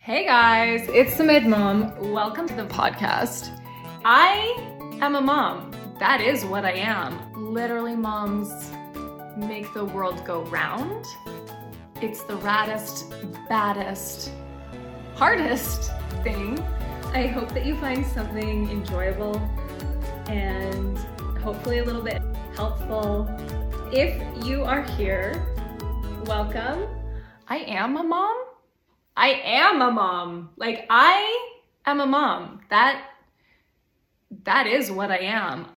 Hey guys, it's the Mid Mom. Welcome to the podcast. I am a mom. That is what I am. Literally, moms make the world go round. It's the raddest, baddest, hardest thing. I hope that you find something enjoyable and hopefully a little bit helpful. If you are here, welcome. I am a mom. I am a mom. Like, I am a mom. That is what I am.